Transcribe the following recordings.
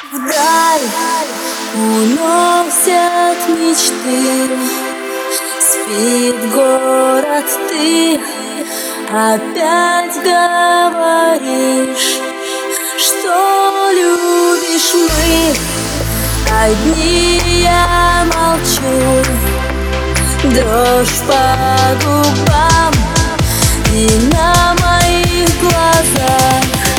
Вдаль уносят мечты, спит город, ты опять говоришь, что любишь. Мы одни, я молчу, дрожь по губам и на моих глазах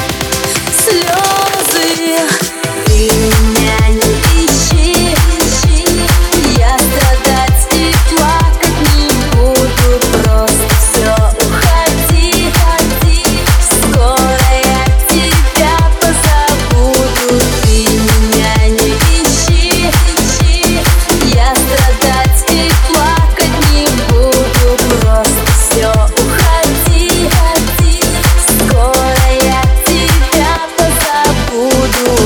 слезы. Ты меня не ищи, я страдать и плакать не буду. Просто все, уходи, скоро я тебя позабуду. Ты меня не ищи, я страдать и плакать не буду. Просто все, уходи, скоро я тебя позабуду.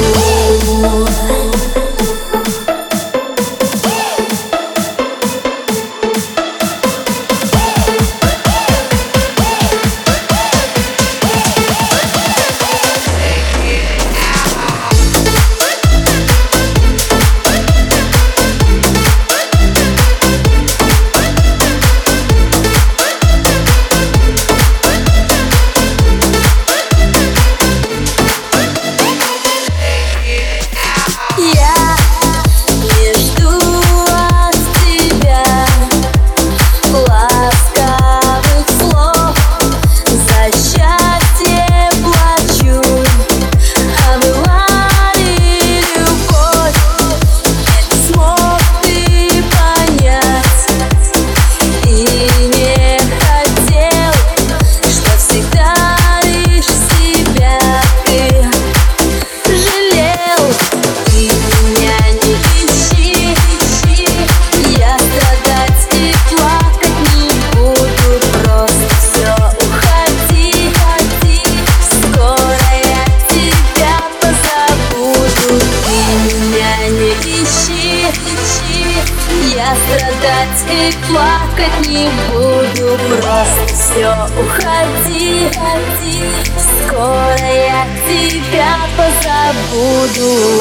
Я страдать и плакать не буду. Просто все, уходи, скоро я тебя позабуду.